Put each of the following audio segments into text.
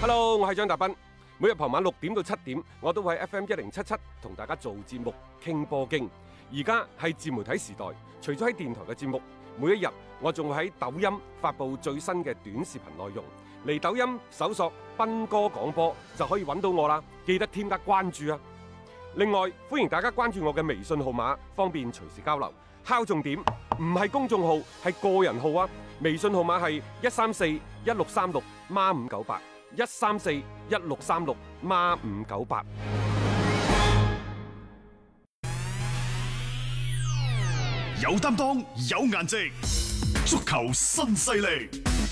Hello， 我係張達斌。每日傍晚6點到7點，我都會喺 FM1077同大家做節目傾波經。而家係自媒體時代，除咗喺電台嘅節目，每一日我仲會喺抖音發布最新嘅短視頻內容。嚟抖音搜索斌哥廣播就可以揾到我啦，記得添加關注啊！另外，歡迎大家關注我嘅微信號碼，方便隨時交流。敲重點，唔係公眾號，係個人號啊！微信號碼係1341636孖598。1341636孖598。 有擔當，有顏值，足球新勢力。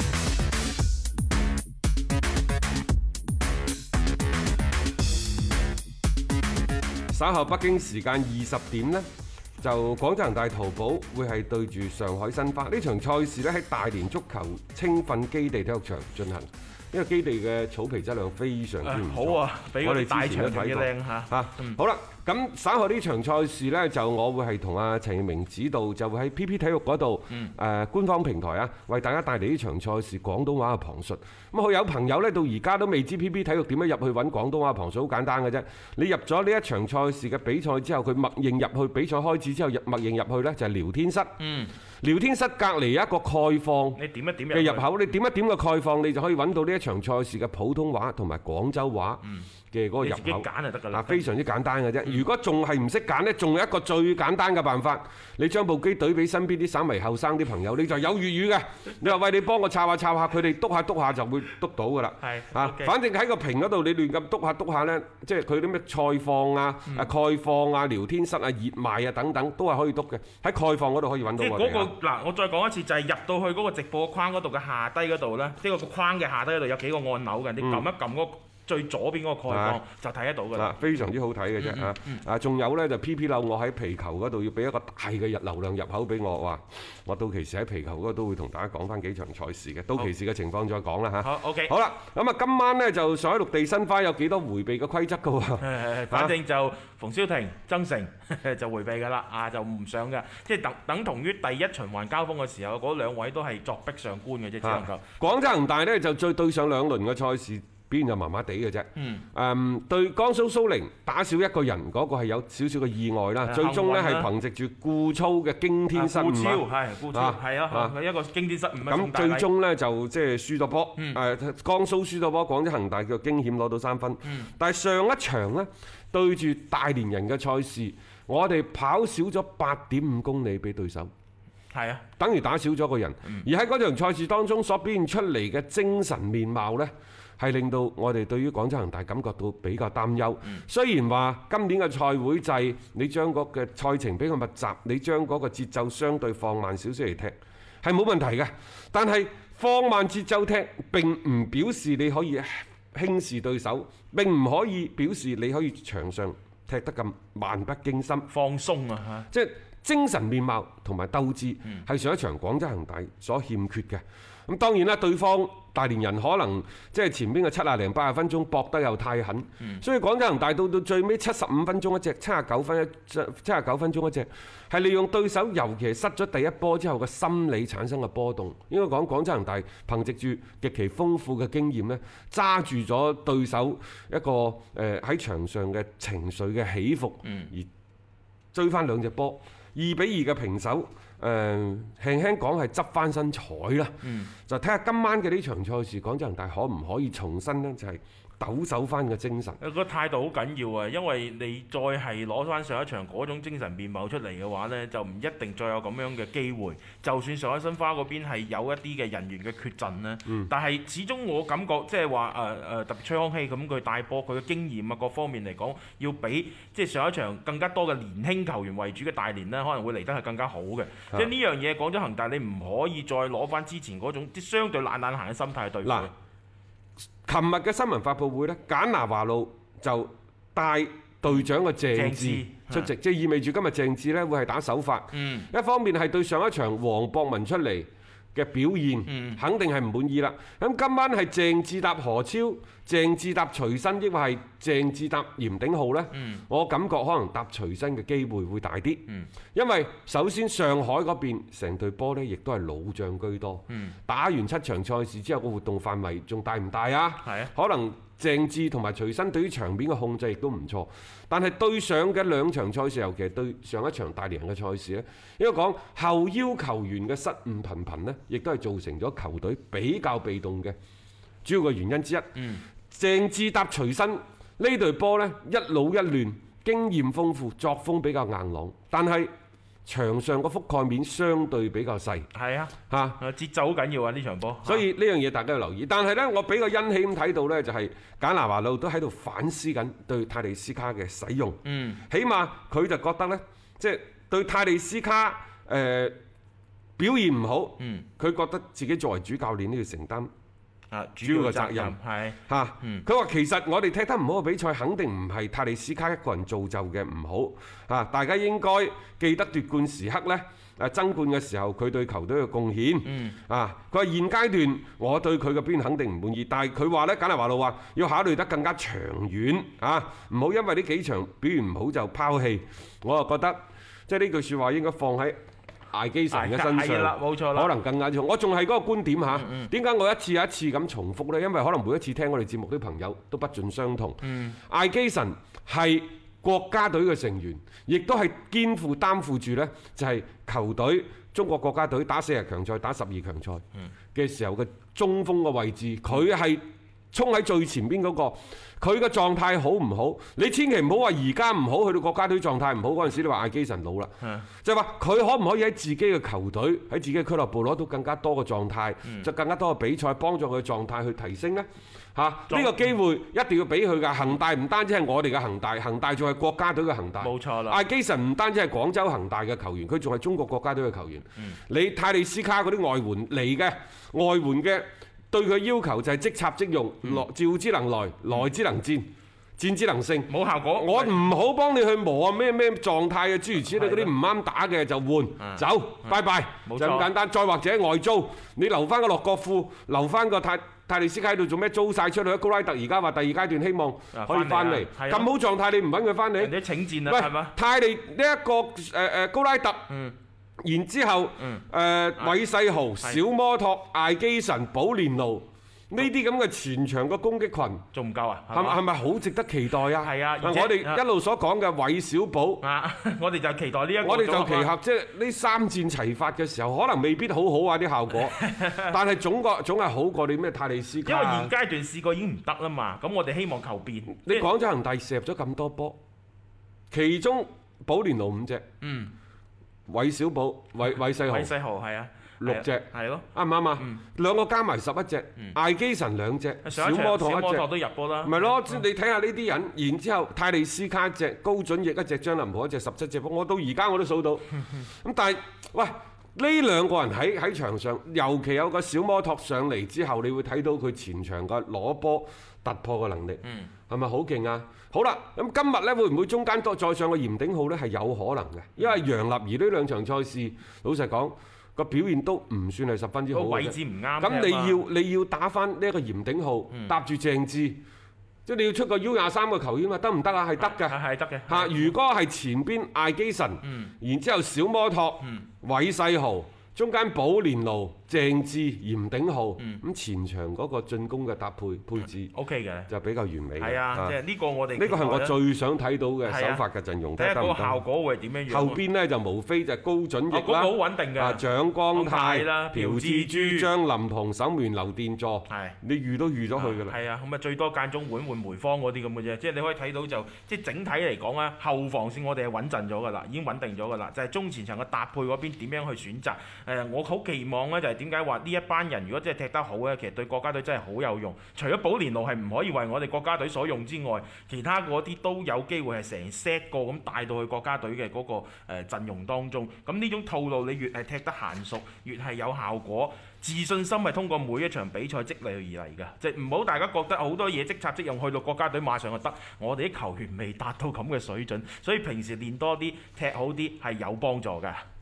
稍後北京時間20點呢，就廣州恒大淘寶會係對住上海申花呢場賽事咧，喺大連足球青訓基地體育場進行。呢個基地嘅草皮質量非常之唔錯， 好啊，比我哋大場仲要靚嚇。 好啦，咁稍後呢場賽事呢，就我會係同阿陳奕明指導，就會喺 PP 體育嗰度官方平台啊，為大家帶嚟呢場賽事廣東話嘅旁述。咁有朋友呢，到而家都未知 PP 體育點樣入去揾廣東話旁述，好簡單嘅啫。你入咗呢一場賽事嘅比賽之後，佢默認入去比賽開始之後，默認入去呢，就係聊天室。聊天室隔離有一個概況， 你點一點嘅入口，你點一點個概況，你就可以揾到呢一場賽事嘅普通話同埋廣州話嘅嗰個入口。 你自己揀就得㗎啦。 非常之簡單嘅啫。如果仲係唔識揀呢，仲有一個最簡單嘅辦法，你將部機對俾身邊啲稍微後生啲朋友，你就有粵語嘅。你話喂，你幫我抄下抄下，佢哋篤下篤下就會篤到㗎啦。係反正喺個屏嗰度，你亂咁篤下篤下呢，即係佢啲咩賽況啊、概況啊、聊天室啊、熱賣啊等等，都係可以篤嘅。喺概況嗰度可以揾到我哋。 嗱，我再講一次，就係入到去嗰個直播框嗰度嘅下低嗰度咧，即係個框嘅下低嗰度有幾個按鈕嘅，你撳一撳嗰最左邊嗰個概況就睇得到㗎啦。 非常之好睇嘅啫嚇。仲有咧就 PP 樓，我喺皮球嗰度要俾一個大嘅流量入口俾我，話我到期時喺皮球嗰度都會同大家講翻幾場賽事嘅，到期時嘅情況再講啦嚇。 好 OK。 好啦，咁啊今晚咧就上海綠地申花有幾多迴避嘅規則㗎喎？ 反正就馮瀟霆、曾誠就迴避㗎啦，就唔上㗎，即係等同於第一循環交鋒嘅時候，嗰兩位都係作壁上觀嘅啫，只能夠。 廣州恒大咧就再對上兩輪嘅賽事，表現就麻麻地嘅啫。對江蘇蘇寧打少一個人嗰個係有少少嘅意外啦。最終呢係憑藉住顧操嘅驚天失誤， 顧超係啊，一個驚天失誤。 咁最終呢就即係輸咗波。江蘇輸咗波，廣州恒大叫驚險攞到3分。但係上一場呢，對住大連人嘅賽事，我哋跑少咗8.5公里俾對手。 係啊， 等於打少咗個人。而喺嗰場賽事當中所表現出嚟嘅精神面貌呢，係令到我哋對於廣州恒大感覺到比較擔憂。雖然話今年嘅賽會制，你將嗰個賽程比較密集，你將嗰個節奏相對放慢少少嚟踢，係冇問題嘅。但係放慢節奏踢並唔表示你可以輕視對手，並唔可以表示你可以場上踢得咁漫不經心、 放鬆啊！ 即係精神面貌同埋鬥志係上一場廣州恒大所欠缺嘅。咁當然啦，對方大連人可能即係前邊嘅70零80分鐘搏得又太狠，所以廣州恒大到最尾75分鐘一隻，79分鐘一隻，係利用對手尤其係失咗第一波之後嘅心理產生嘅波動。應該講廣州恒大憑藉住極其豐富嘅經驗呢，揸住咗對手一個喺場上嘅情緒嘅起伏，而追翻2隻波，2-2嘅平手。輕輕講係執翻身彩啦，就睇下今晚嘅呢場賽事，廣州恒大可唔可以重新呢？就係抖擻翻嘅精神。 個態度好緊要啊，因為你再係攞翻上一場嗰種精神面貌出嚟嘅話呢，就唔一定再有咁樣嘅機會。就算上海申花嗰邊係有一啲嘅人員嘅缺陣呢，但係始終我感覺即係話特別崔康熙咁，佢帶波佢嘅經驗啊各方面嚟講，要比即係上一場更加多嘅年輕球員為主嘅大連呢，可能會嚟得係更加好嘅。即係呢樣嘢，廣州恒大你唔可以再攞翻之前嗰種即相對懶懶閒嘅心態去對付。 琴日嘅新聞發佈會呢，簡拿華路就帶隊長嘅鄭智出席，即係意味住今日鄭智呢會係打首發。一方面係對上一場黃博文出嚟嘅表現，肯定係唔滿意啦。咁今晚係鄭智搭何超、鄭智搭徐新，抑或係鄭智搭嚴鼎皓呢，我感覺可能搭徐新嘅機會會大啲。因為首先上海嗰邊成隊波呢，亦都係老將居多。打完7場賽事之後，個活動範圍仲大唔大啊？可能鄭智同埋徐新對於場面嘅控制亦都唔錯。但係對上嘅2場賽事，尤其係對上一場大連人嘅賽事呢，應該講後腰球員嘅失誤頻頻呢，亦都係造成咗球隊比較被動嘅主要嘅原因之一。鄭智搭徐新呢隊波呢，一老一嫩，經驗豐富，作風比較硬朗，但係場上個覆蓋面相對比較細。係啊，節奏好緊要啊呢場波。所以呢樣嘢大家要留意。但係呢，我比較欣喜咁睇到呢，就係簡拿華路都喺度反思緊對泰利斯卡嘅使用。起碼佢就覺得呢，即係對泰利斯卡表現唔好，佢覺得自己作為主教練都要承擔主要嘅責任。佢話其實我哋踢得唔好嘅比賽，肯定唔係泰利斯卡一個人造就嘅唔好。大家應該記得奪冠時刻呢，爭冠嘅時候佢對球隊嘅貢獻。佢話現階段我對佢嘅表現肯定唔滿意，但係佢話呢，簡拿華路話要考慮得更加長遠，唔好因為呢幾場表現唔好就拋棄。我就覺得即係呢句説話應該放喺艾基臣嘅身上，冇錯，可能更加重。我仲係嗰個觀點嚇，點解我一次又一次咁重複呢？因為可能每一次聽我哋節目啲朋友都不盡相同。艾基臣係國家隊嘅成員，亦都係肩負擔負住呢，就係球隊中國國家隊打40強賽、打12強賽嘅時候嘅中鋒嘅位置，佢係衝喺最前邊嗰個。佢嘅狀態好唔好？你千祈唔好話而家唔好，去到國家隊狀態唔好嗰陣時，你話艾基臣老啦，就係話佢可唔可以喺自己嘅球隊、喺自己嘅俱樂部攞到更加多嘅狀態，就更加多嘅比賽幫助佢嘅狀態去提升呢？呢個機會一定要俾佢㗎。恒大唔單止係我哋嘅恒大，恒大仲係國家隊嘅恒大。冇錯啦。艾基臣唔單止係廣州恒大嘅球員，佢仲係中國國家隊嘅球員。你泰利斯卡嗰啲外援嚟嘅，外援嘅。對佢要求就係即插即用，召之能來，來之能戰，戰之能勝。冇效果，我唔好幫你去磨啊咩狀態嘅諸如此類嗰啲唔啱打嘅就換走，拜拜，就咁簡單。再或者外租，你留翻個洛國富，留翻個泰利斯卡喺度做咩？租晒出去。高拉特而家話第2階段希望可以翻嚟，咁好狀態你唔揾佢翻嚟？人哋請戰啦，係嘛？泰利呢一個高拉特。然之後，韋世豪、小摩托、艾基臣、保連奴呢啲咁嘅前場嘅攻擊群，仲唔夠啊？係咪好值得期待啊？係啊！我哋一路所講嘅韋小寶，我哋就期待呢一個。我哋就期合，即係呢3戰齊發嘅時候，可能未必好好啊啲效果，但係總係好過你咩泰利斯卡。因為現階段試過已經唔得啦嘛，咁我哋希望求變。你廣州恒大射入咗咁多波，其中保連奴5隻。韋小寶、韋世豪係啊，6隻係咯，啱唔啱啊？2個加埋11隻，艾基臣2隻，小摩托1隻都入波啦。咪咯，你睇下呢啲人，然之後泰利斯卡1隻，高準翼1隻，張林甫1隻，17隻波，我到而家我都數到。咁但係喂，呢2個人喺場上，尤其有個小摩托上嚟之後，你會睇到佢前場嘅攞波突破嘅能力，係咪好勁啊？好啦，咁今日呢會唔會中間再上個嚴鼎皓呢？係有可能嘅，因為楊立兒呢2場賽事，老實講個表現都唔算係十分之好嘅。位置唔啱。咁你要打翻呢一個嚴鼎皓，搭住鄭智，即係你要出個 U23嘅球員嘛？得唔得啊？係得嘅，係得嘅。嚇，如果係前邊艾基臣，然之後小摩托、韋世豪。中間保連奴、鄭智、嚴鼎皓，咁前場嗰個進攻嘅搭配置 OK 嘅，就比較完美。係啊，即係呢個我哋呢個係我最想睇到嘅首發嘅陣容。睇下個效果會係點樣樣。後邊呢就無非就高準翼啦，嗰個好穩定嘅。蔣光太啦、朴志洙、張林鵬、守門劉殿座，你預都預咗佢㗎啦。係啊，咁啊最多間中換梅芳嗰啲咁嘅啫。即係你可以睇到就即係整體嚟講啊，後防線我哋係穩陣咗㗎啦，已經穩定咗㗎啦。就係中前場嘅搭配嗰邊點樣去選擇？我好期望咧，就係點解話呢一班人如果真係踢得好咧，其實對國家隊真係好有用。除咗保連奴係唔可以為我哋國家隊所用之外，其他嗰啲都有機會係成 set 個咁帶到去國家隊嘅嗰個陣容當中。咁呢種套路你越係踢得嫻熟，越係有效果。自信心係通過每一場比賽積累而嚟㗎，即係唔好大家覺得好多嘢即插即用，去到國家隊馬上就得。我哋啲球員未達到咁嘅水準，所以平時練多啲、踢好啲係有幫助㗎。